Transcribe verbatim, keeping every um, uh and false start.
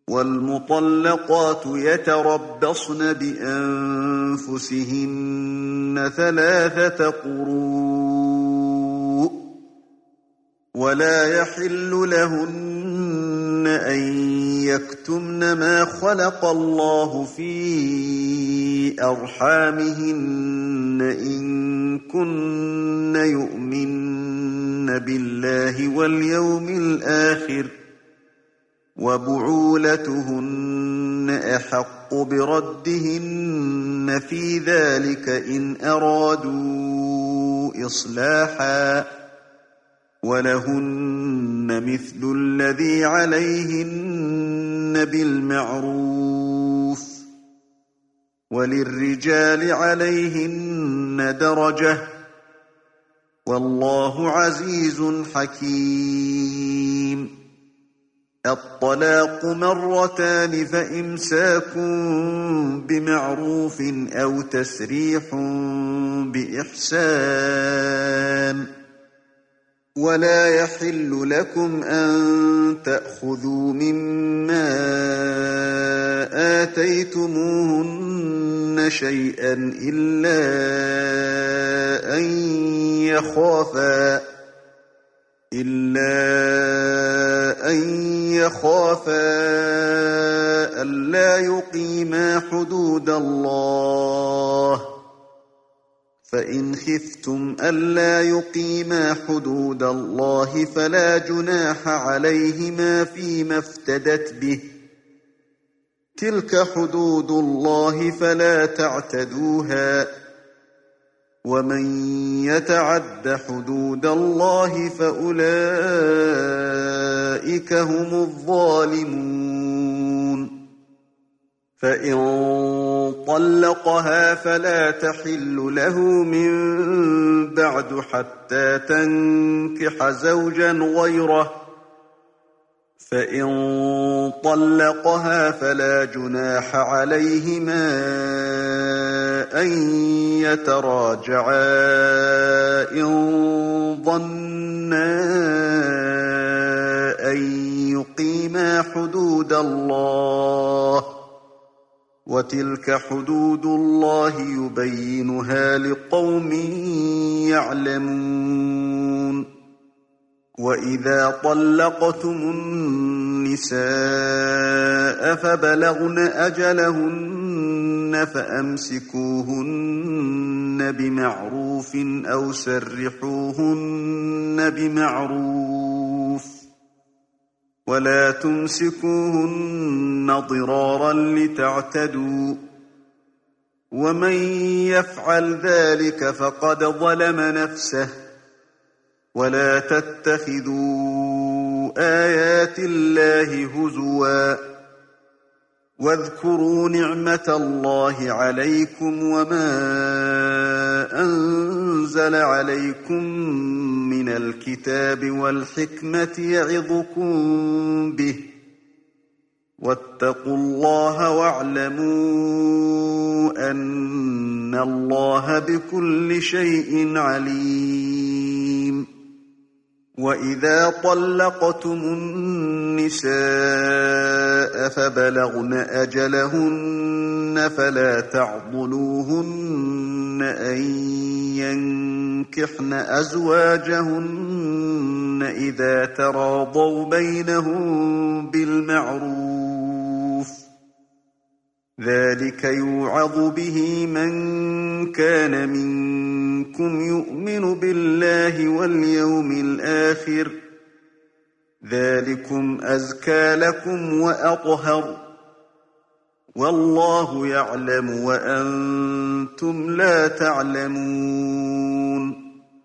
وَالْمُطَلَّقَاتُ يَتَرَبَّصْنَ بِأَنفُسِهِنَّ ثَلَاثَةَ قُرُوءٍ ۚ وَلَا يَحِلُّ لَهُنَّ أَن يَكْتُمْنَ مَا خَلَقَ اللَّهُ فِي أَرْحَامِهِنَّ إِن كُنَّ يُؤْمِنَّ بِاللَّهِ وَالْيَوْمِ الْآخِرِ ۚ وَبُعُولَتُهُنَّ أَحَقُّ بِرَدِّهِنَّ فِي ذَٰلِكَ إِنْ أَرَادُوا إِصْلَاحًا ۚ وَلَهُنَّ مِثْلُ الَّذِي عَلَيْهِنَّ بِالْمَعْرُوفِ ۚ وَلِلرِّجَالِ عَلَيْهِنَّ دَرَجَةٌ ۗ وَاللَّهُ عَزِيزٌ حَكِيمٌ. الطلاق مرتان فإمساك بمعروف أو تسريح بإحسان. ولا يحل لكم أن تأخذوا مما آتيتموهن شيئا إلا أن يخافا إلا أن يخافا ألا يقيما حدود الله، فإن خفتم ألا يقيما حدود الله فلا جناح عليهما فيما افتدت به، تلك حدود الله فلا تعتدوها، ومن يتعد حدود الله فأولئك هم الظالمون. فإن طلقها فلا تحل له من بعد حتى تنكح زوجا غيره، فإن طلقها فلا جناح عليهما أن يتراجعا إن ظنا أن يقيما حدود الله، وتلك حدود الله يبينها لقوم يعلمون. وَإِذَا طَلَّقْتُمُ النِّسَاءَ فَبَلَغْنَ أَجَلَهُنَّ فَأَمْسِكُوهُنَّ بِمَعْرُوفٍ أَوْ سَرِّحُوهُنَّ بِمَعْرُوفٍ، وَلَا تُمْسِكُوهُنَّ ضِرَارًا لِتَعْتَدُوا، وَمَن يَفْعَلْ ذَلِكَ فَقَدْ ظَلَمَ نَفْسَهُ. ولا تتخذوا آيات الله هزوا، واذكروا نعمة الله عليكم وما أنزل عليكم من الكتاب والحكمة يعظكم به، واتقوا الله واعلموا أن الله بكل شيء عليم. وَإِذَا طَلَّقْتُمُ النِّسَاءَ فَبَلَغْنَ أَجَلَهُنَّ فَلَا تَعْضُلُوهُنَّ أَن يَنكِحْنَ أَزْوَاجَهُنَّ إِذَا تَرَاضَوْا بَيْنَهُم بِالْمَعْرُوفِ ۗ ذَلِكَ يُوعَظُ بِهِ مَن كَانَ مِنكُمْ يُؤْمِنُ بِاللَّهِ وَالْيَوْمِ الْآخِرِ ۗ ذَلِكُمْ أَزْكَىٰ لَكُمْ وَأَطْهَرُ ۗ وَاللَّهُ يَعْلَمُ وَأَنتُمْ لَا تَعْلَمُونَ.